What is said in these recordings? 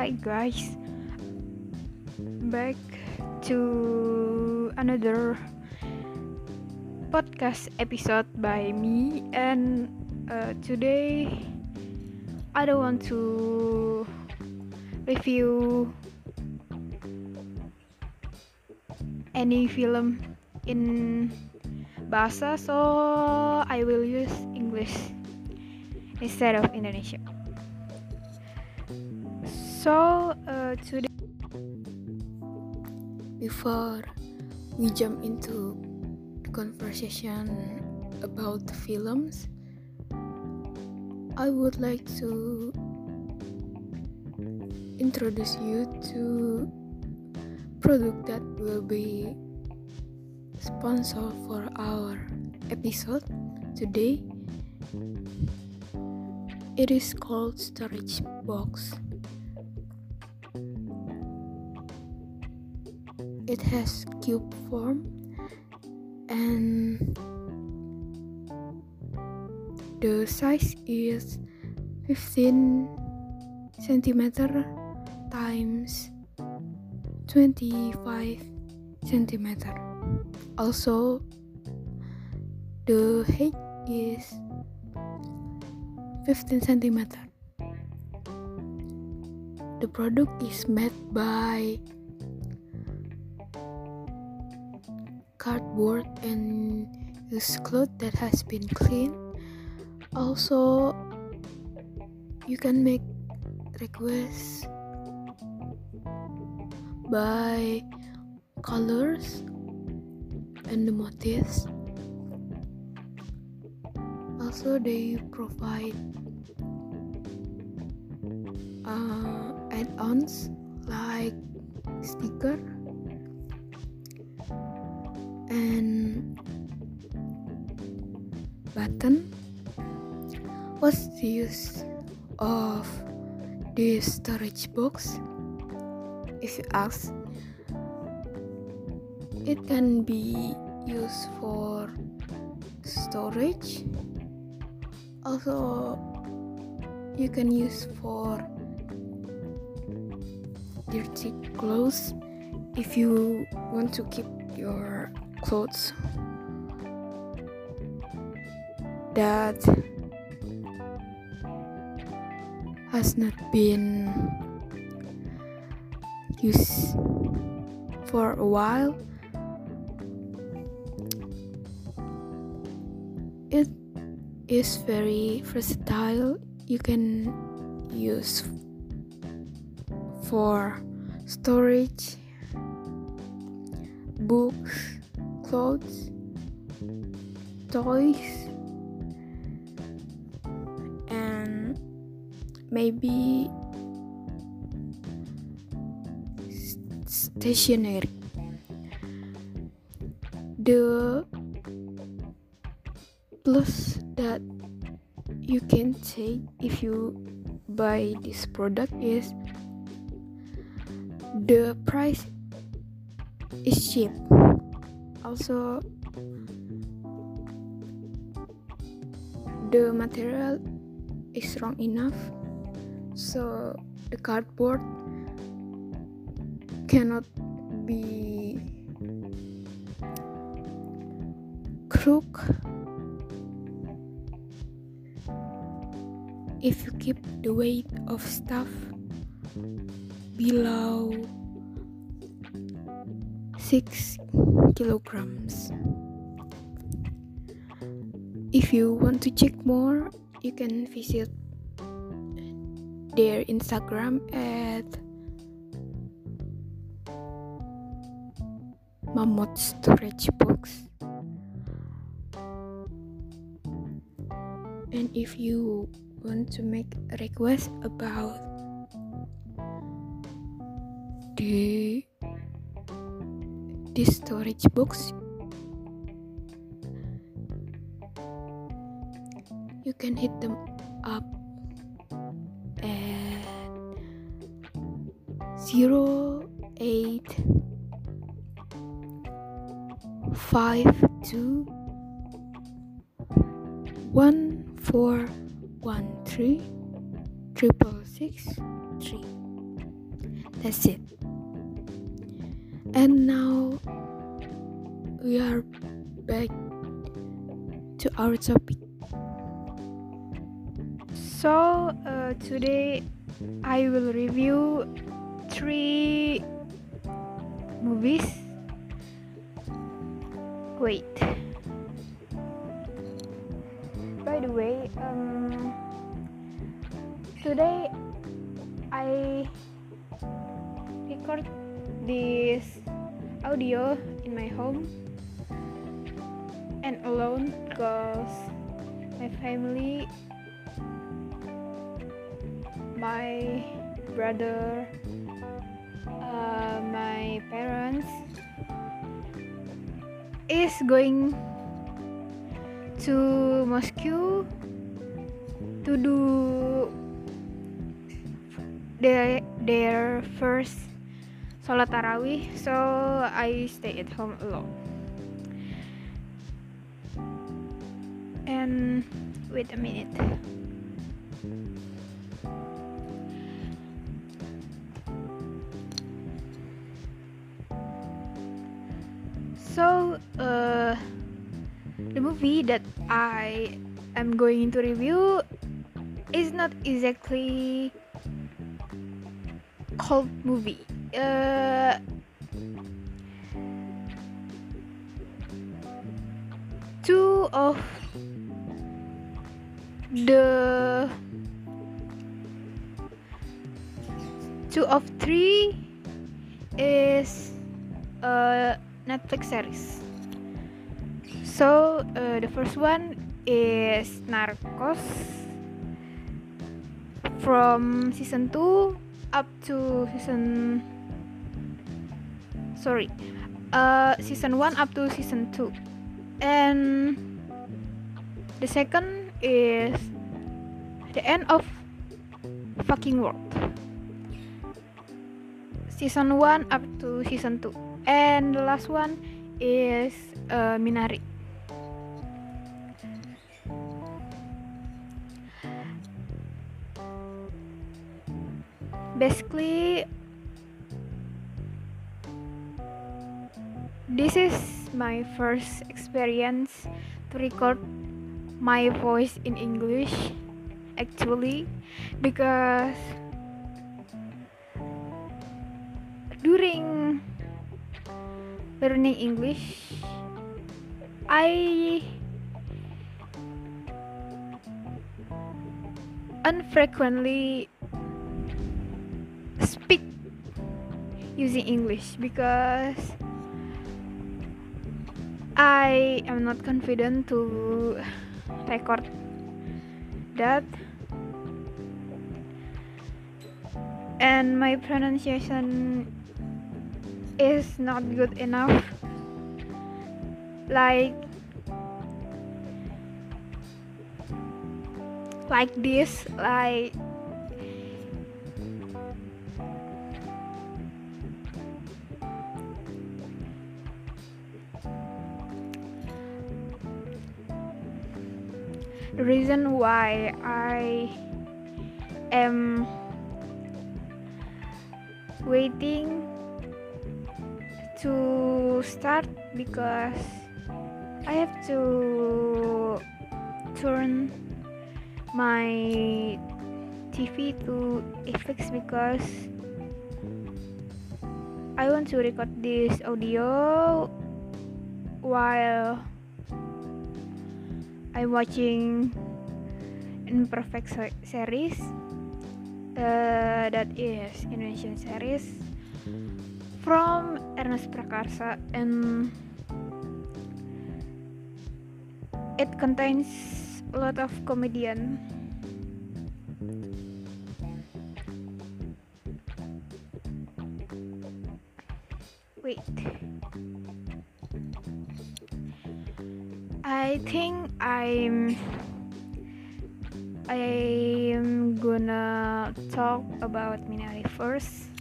Hi guys, back to another podcast episode by me, and today I don't want to review any film in bahasa, so I will use English instead of Indonesia. So today, before we jump into the conversation about the films, I would like to introduce you to product that will be sponsor for our episode today. It is called Storage Box. It has cube form and the size is 15 centimeter times 25 centimeter. Also, the height is 15 centimeter. The product is made by cardboard and used cloth that has been cleaned. Also, you can make requests by colors and the motifs. Also, they provide add-ons like sticker and button. What's the use of this storage box? If you ask, it can be used for storage. Also, you can use for dirty clothes if you want to keep your clothes that has not been used for a while. It is very versatile. You can use for storage, books, clothes, toys, and maybe stationery. The plus that you can take if you buy this product is the price is cheap. Also, the material is strong enough, so the cardboard cannot be crooked if you keep the weight of stuff below 6 kilograms. If you want to check more, you can visit their Instagram at Mammoth Storage Box. And if you want to make a request about this storage box, you can hit them up at 08521413 663. That's it. And now we are back to our topic. So today I will review 3 movies. Wait. By the way, today I record this audio in my home and alone because my family, my brother, my parents is going to Moscow to do their first Sholat Tarawih, so I stay at home alone. And wait a minute. So the movie that I am going to review is not exactly cult movie. Two of three is Netflix series. So the first one is Narcos from season 2 up to season 1 up to season 2. And the second is The End of Fucking World, season 1 up to season 2. And the last one is Minari. Basically, this is my first experience to record my voice in English, actually, because during learning English, I unfrequently speak using English because I am not confident to record that, and my pronunciation is not good enough like this, like the reason why I am waiting to start because I have to turn my TV to FX because I want to record this audio while I'm watching Imperfect series, that is Indonesian series from Ernest Prakarsa, and it contains a lot of comedian. Wait, I think I'm gonna talk about Minari first.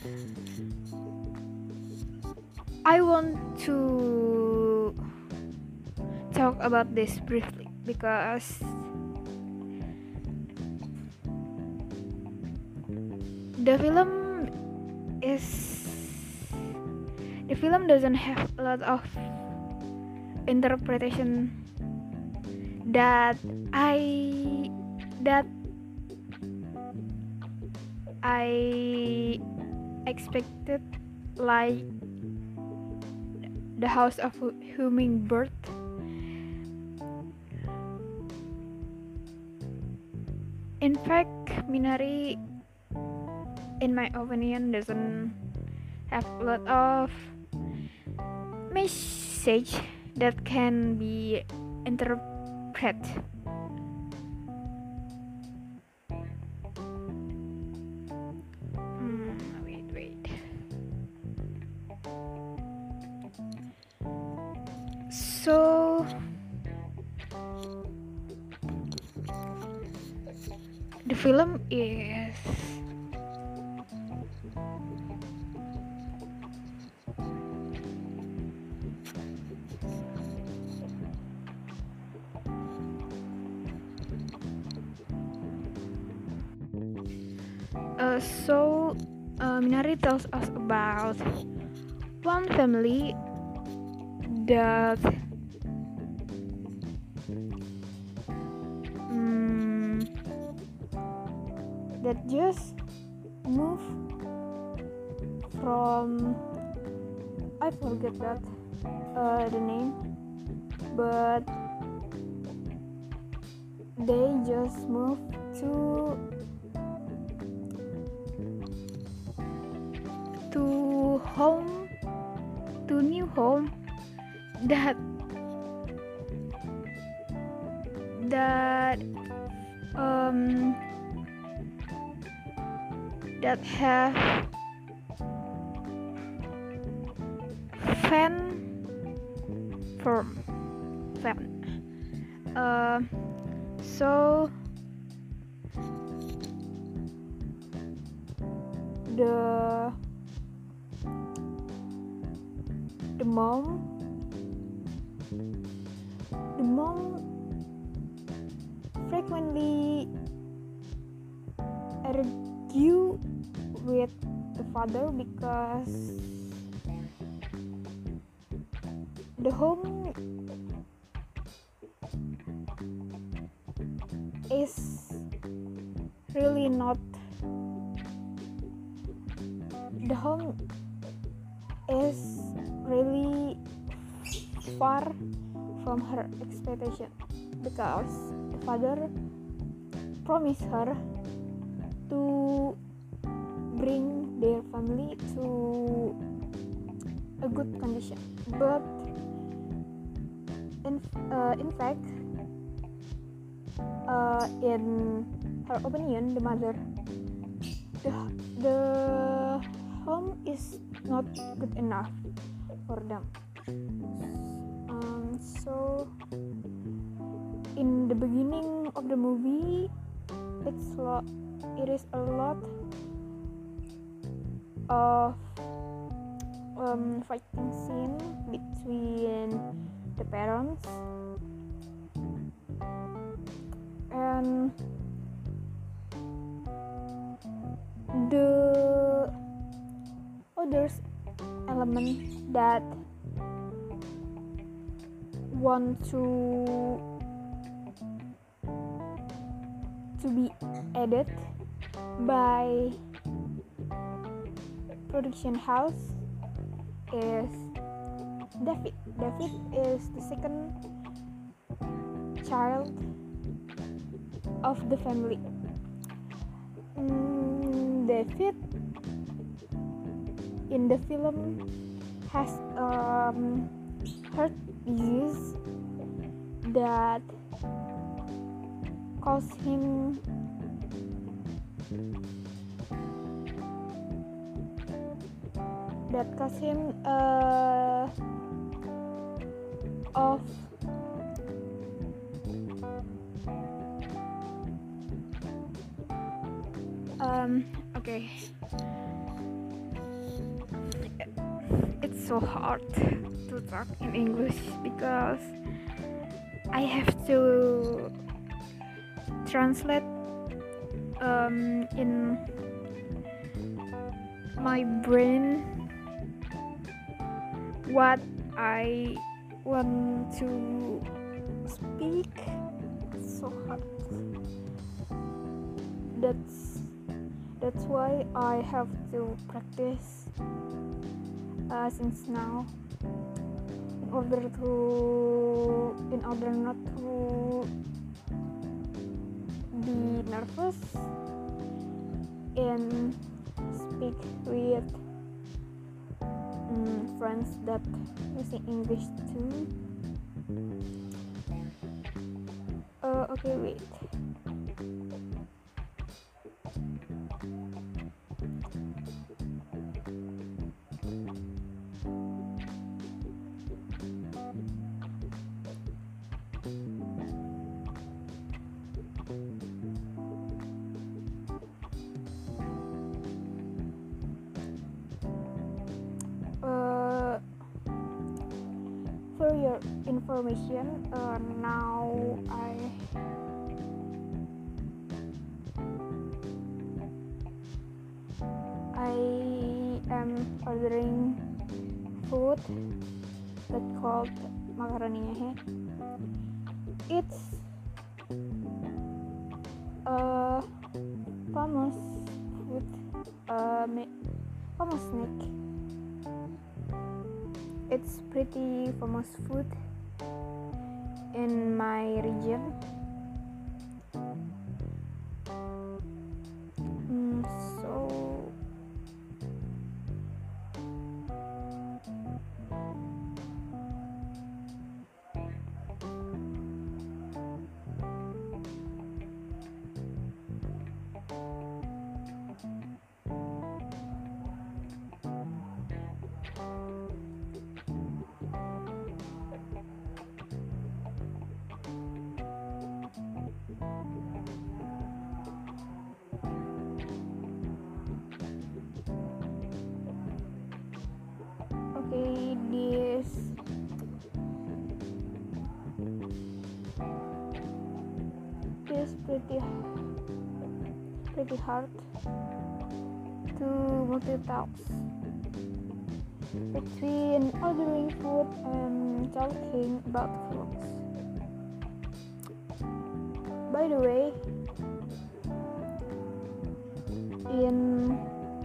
I want to talk about this briefly because the film is the film doesn't have a lot of interpretation that that I expected, like the House of Hummingbird. In fact, Minari, in my opinion, doesn't have a lot of message that can be interpreted. Wait. So the film is Minari tells us about one family that that just moved from, I forget that the name, but they just moved to new home that have fan. So the mom frequently argue with the father because the home is really not far from her expectation, because the father promised her to bring their family to a good condition, but in fact, in her opinion, the mother, the home is not good enough for them. So in the beginning of the movie, it is a lot of fighting scene between the parents, and the others element that want to be added by production house is David. David is the second child of the family. David in the film has heart disease that caused him of okay, it's so hard to talk in English because I have to translate in my brain what I want to speak. So hard. That's why I have to practice since now in order not to be nervous and speak with friends that using English too. Okay, wait. For your information, now I am ordering food that called macaroni nyehe. It's a famous food, famous snack. It's pretty famous food in my region. So okay, this pretty hard to multitask between ordering food and talking about clothes. By the way, in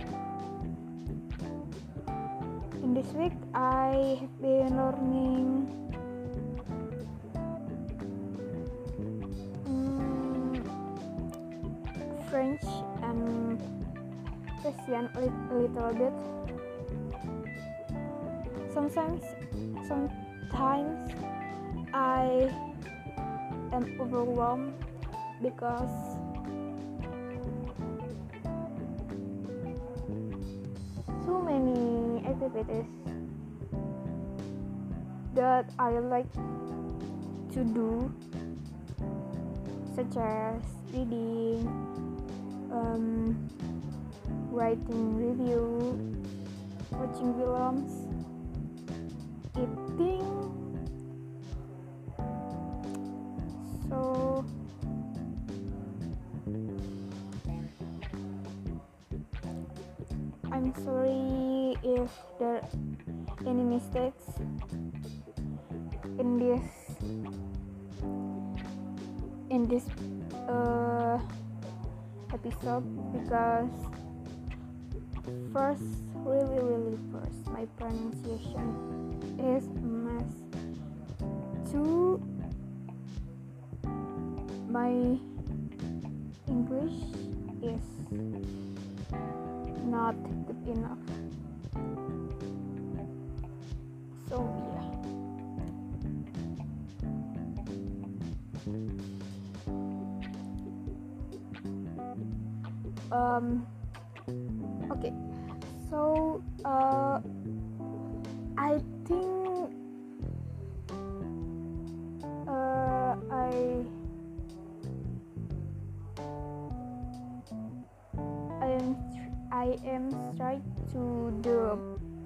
this week I have been learning French and Russian a little bit. Sometimes I am overwhelmed because so many activities that I like to do, such as reading, writing review, watching films, eating. So I'm sorry if there are any mistakes in this episode, because really first, my pronunciation is a mess. Two, my English is not good enough. So yeah. Okay, so I think I am trying to do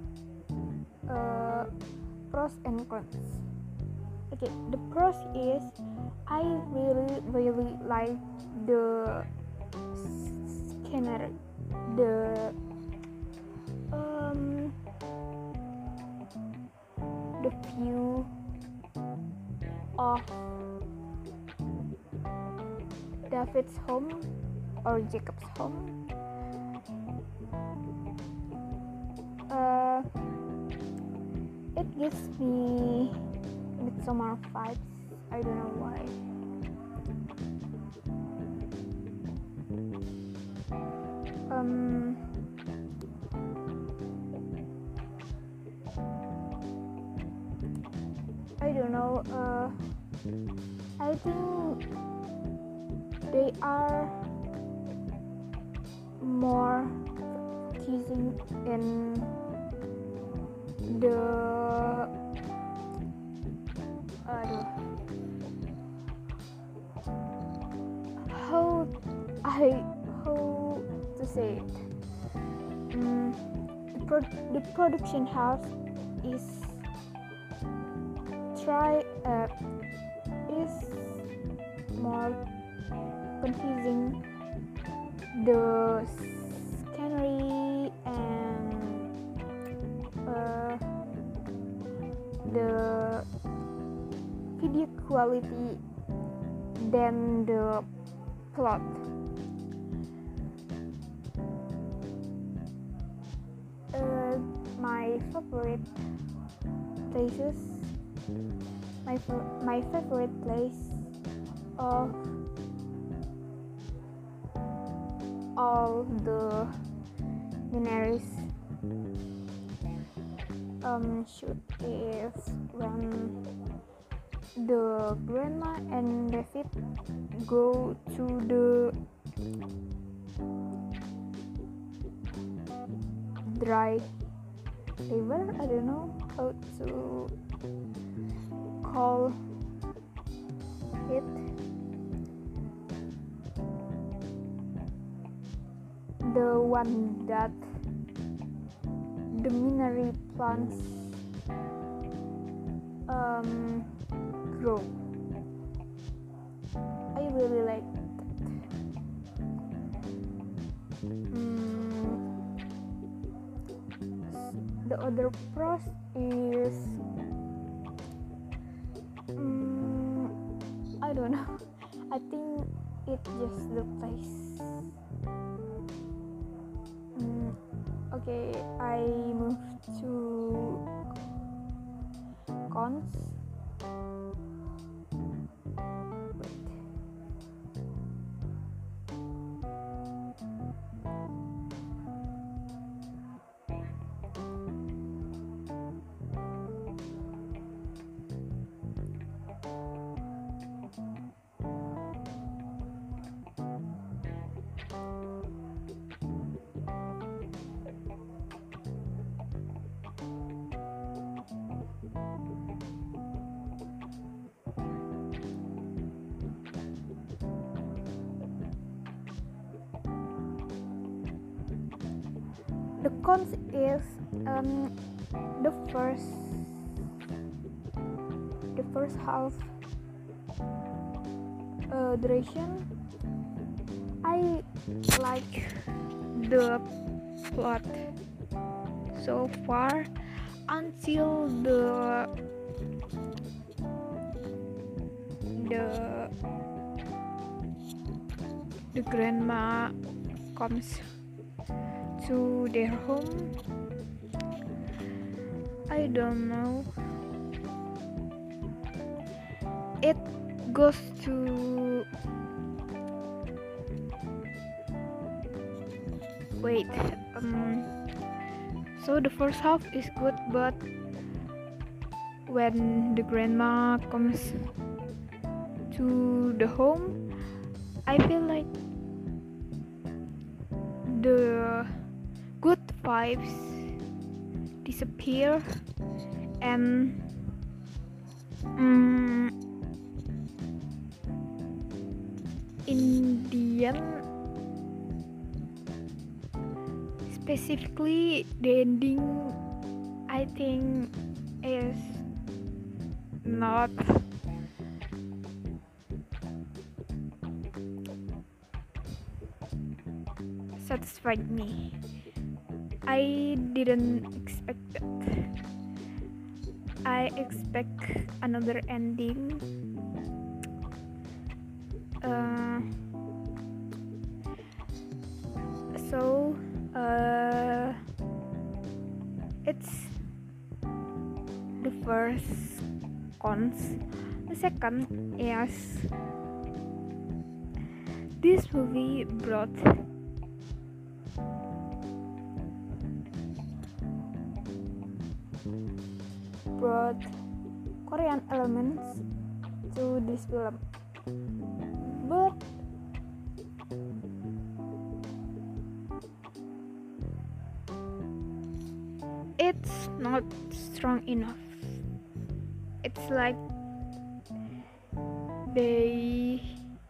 pros and cons. Okay, the pros is I really like the scenery, the um, the view of David's home or Jacob's home. It gives me Midsommar vibes. I don't know why. I don't know. I think they are more focusing in the how to say it. The production house is is more confusing the scenery and the video quality than the plot. My favorite places, my favorite place of all the Daenerys shoot is when the grandma and David go to the dry river. I don't know how to call it. The one that the mineral plants grow. I really like that. The other pros is I don't know. I think it's just the place. Okay, I move to cons. The cons is the first half duration. I like the plot so far until the grandma comes to their home. I don't know. It goes to wait. So the first half is good, but when the grandma comes to the home, I feel like the good vibes disappear, and in the end, specifically the ending, I think is not satisfied me. I didn't expect that. I expect another ending. So it's the first cons. The second is this movie brought Korean elements to this film, but it's not strong enough. It's like they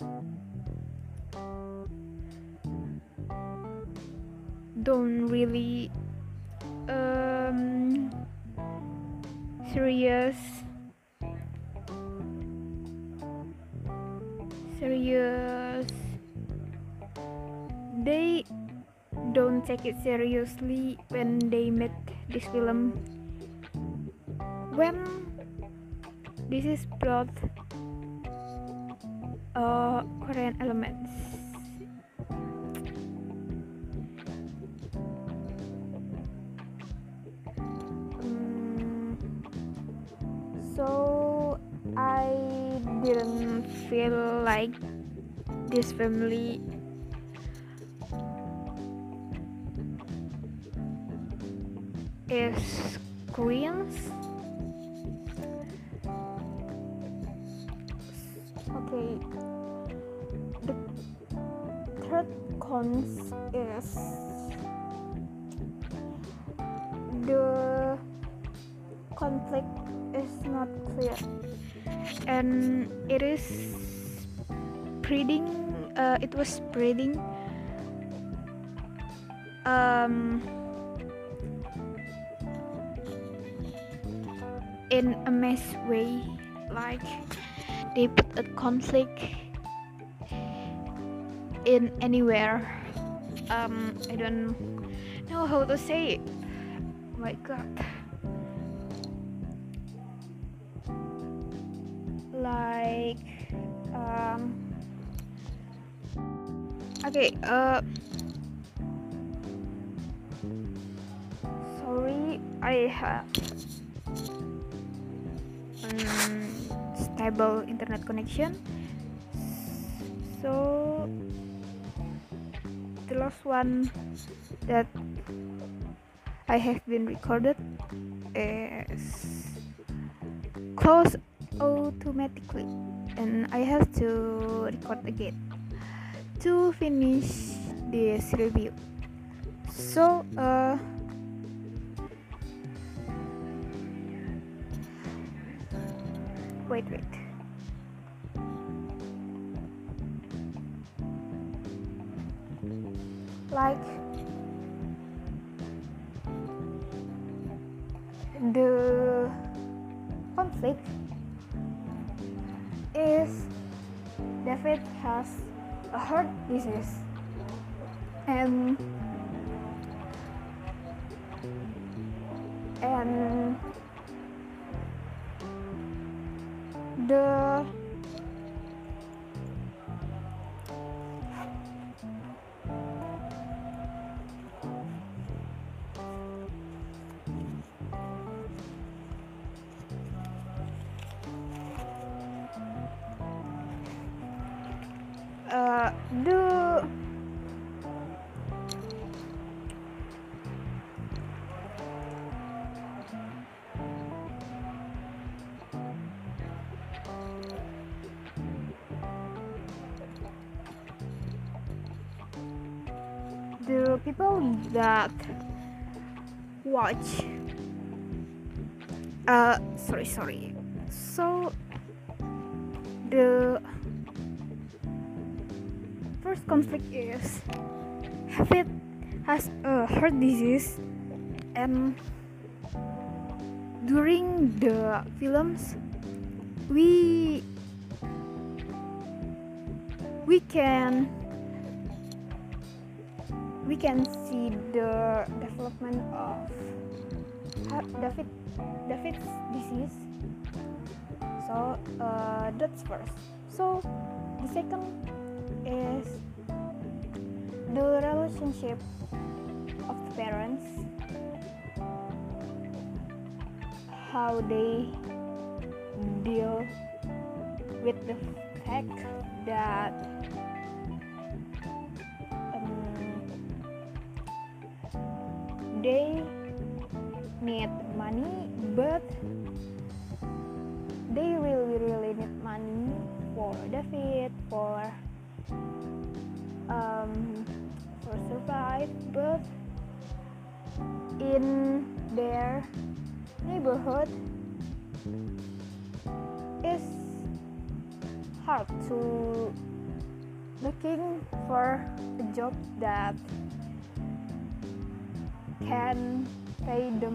don't really serious they don't take it seriously when they made this film. When this is brought Korean elements, so I didn't feel like this family is Koreans. Okay, the third cons is the conflict is not clear, and it was spreading in a mess way, like they put a conflict in anywhere. I don't know how to say it. Oh my god. Like okay, sorry, I have stable internet connection, so the last one that I have been recorded is close automatically, and I have to record again to finish this review. So wait like the conflict is David has a heart disease, and the the people that watch sorry, so the first conflict is David has a heart disease, and during the films we we can see the development of David's disease. So that's first. So the second is the relationship of the parents, how they deal with the fact that they need money, but they really need money for David, for survive, but in their neighborhood it's hard to looking for a job that can pay them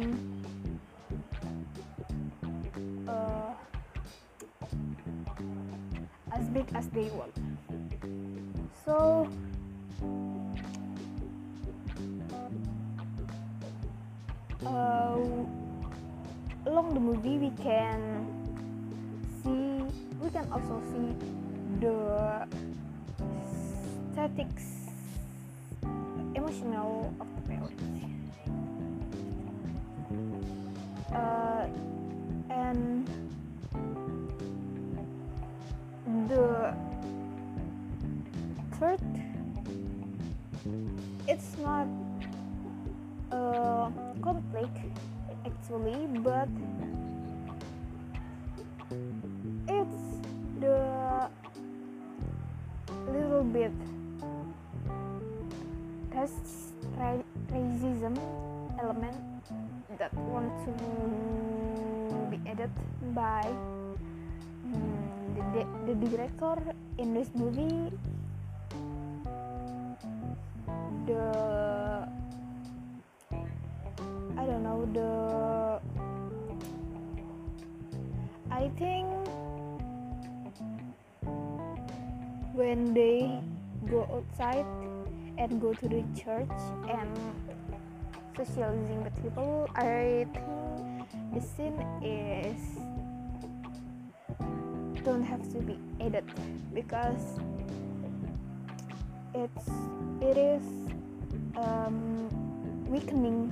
as big as they want. So along the movie we can also see the statics emotional of the parents, and the third, it's not a conflict actually, but it's the little bit racism element that want to be added by the director in this movie. I think when they go outside and go to the church and socializing with people, I think the scene is don't have to be added because it is weakening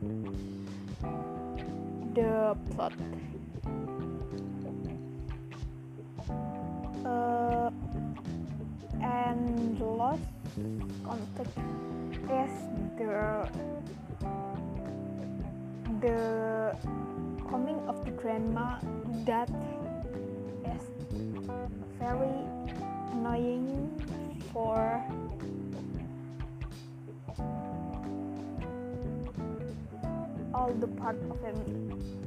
the plot. And the last conflict is the coming of the grandma that is very annoying for all the part of family.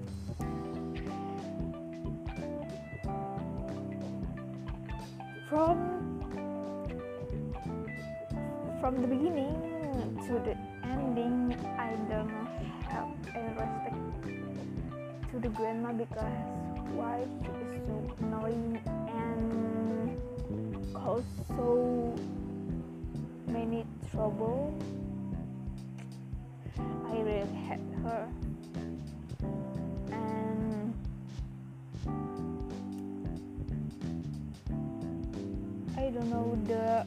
From the beginning to the ending, I don't have any respect to the grandma because why she is so annoying and cause so many trouble. I really hate her, and I don't know, the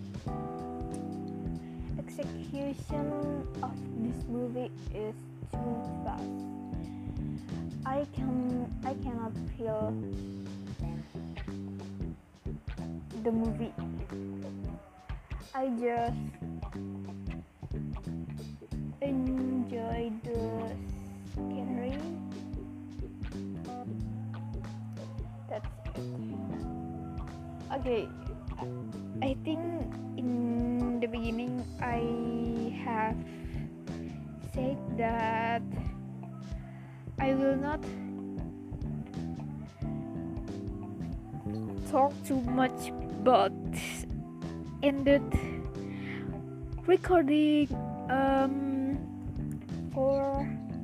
execution of this movie is too fast. I cannot feel the movie. I just enjoy the scenery. That's it. Okay, I think in the beginning I have said that I will not talk too much, but ended recording for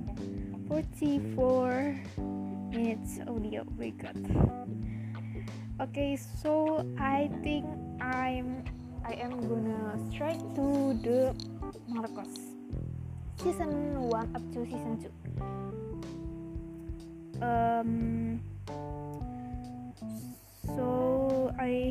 44 minutes audio record. Okay, so I think I am gonna strike to the Narcos season 1 up to season 2. So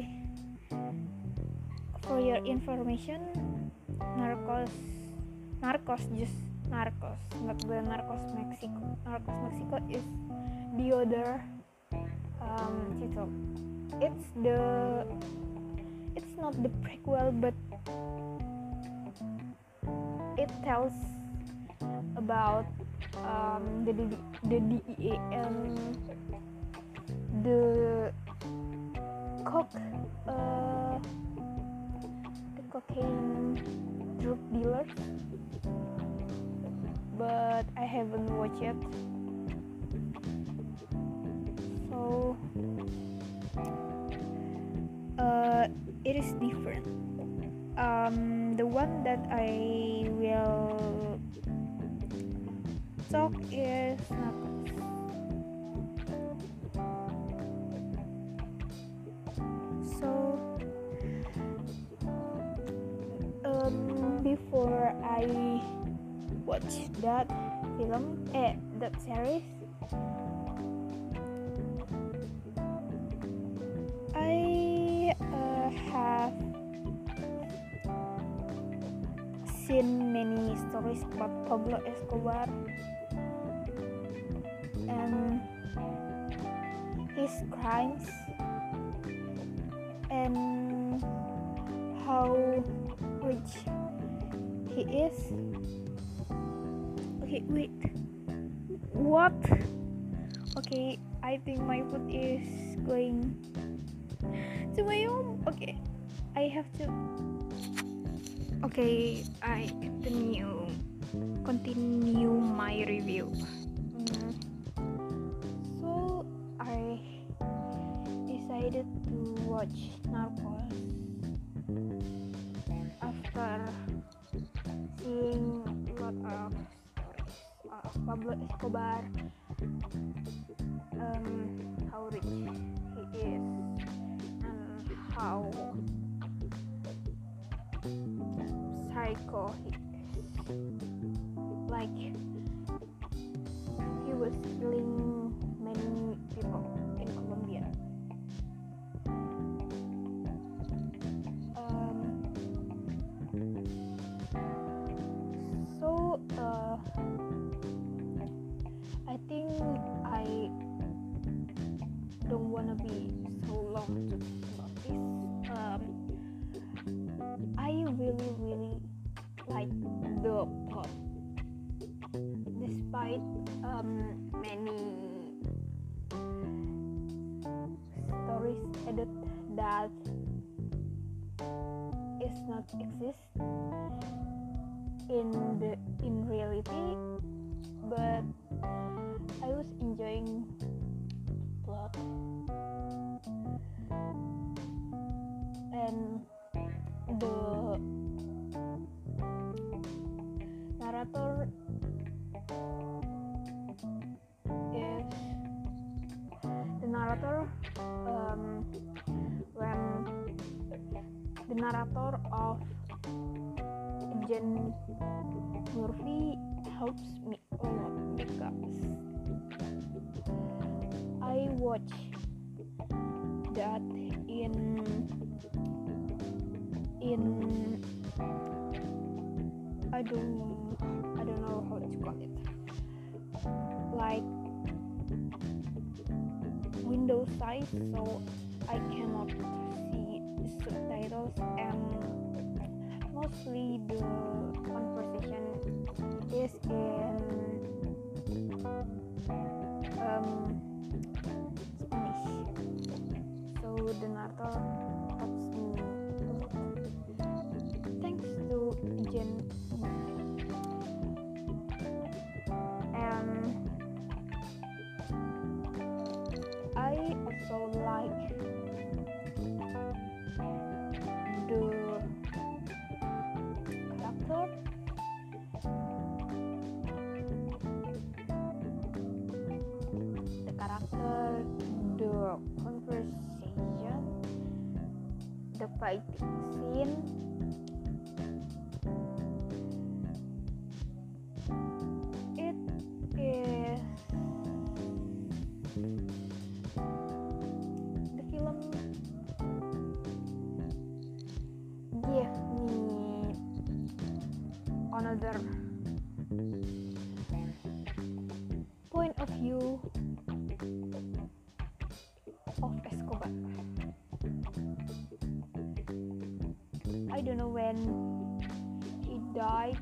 for your information, Narcos, just Narcos, not the Narcos Mexico. Narcos Mexico is the other title. It's not the prequel, but it tells about the DEA and the cocaine drug dealers, but I haven't watched yet. So it is different. The one that I will talk is Narcos. So before I watch that that series, I have seen many stories about Pablo Escobar and his crimes and how rich he is. Okay, wait. What? Okay, I think my food is going to my home. Okay, I have to. Okay, I continue my review. So I decided to watch Narcos after seeing a lot of stories of Pablo Escobar, how rich he is and how psycho he is. Like, he was killing many people in Colombia. So I think I don't wanna be so long to talk about this. I really like the plot, despite many stories added that is not exist in reality, but I was enjoying plot and the narrator when the narrator of Agent Murphy helps me a lot because I watch that in I don't know how to call it, like window size, so I cannot see the subtitles, and mostly the conversation is in Spanish, so the narrator helps me a lot. Thanks to Jen. And I also like the character, the conversation, the fighting scene, another point of view of Escobar. I don't know when he died.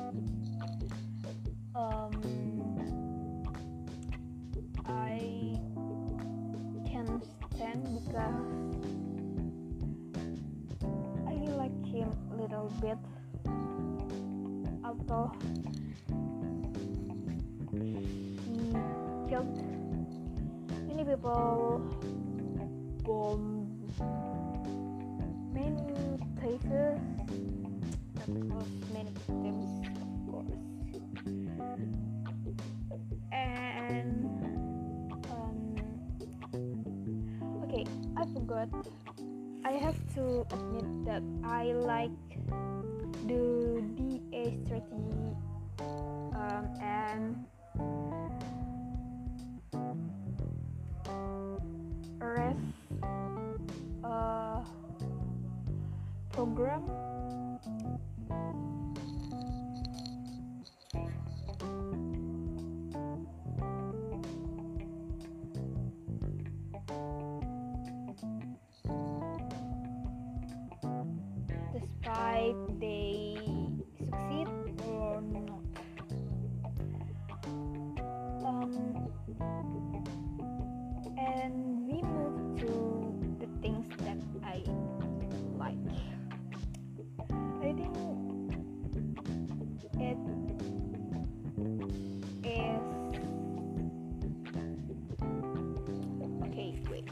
I can't stand because I like him a little bit, although he killed many people, bombed many places, that caused many victims, of course. And okay, I forgot. I have to admit that I like the DA strategy and arrest program. Despite they succeed or not. And we move to the things that I like. I think it is okay, wait.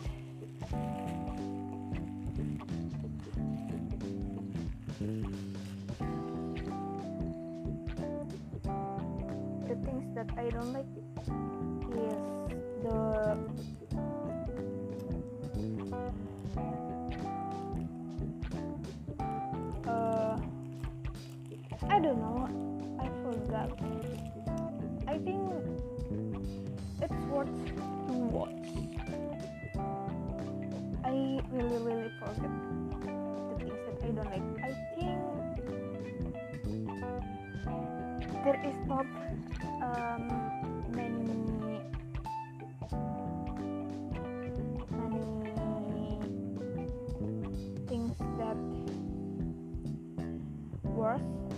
The things that I don't like is the I don't know, I forgot. I think it's worth to watch. I really forget the things that I don't like. I think there is not many things that worse